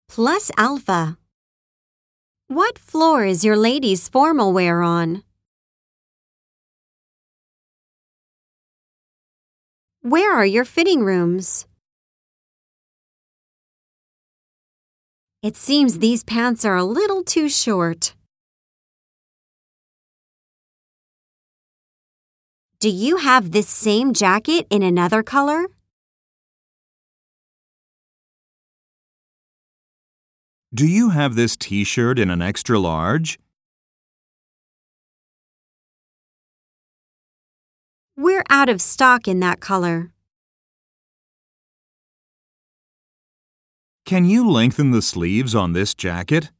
Plus alpha. What floor is your ladies' formal wear on? Where are your fitting rooms? It seems these pants are a little too short. Do you have this same jacket in another color? Do you have this t-shirt in an extra large? We're out of stock in that color. Can you lengthen the sleeves on this jacket?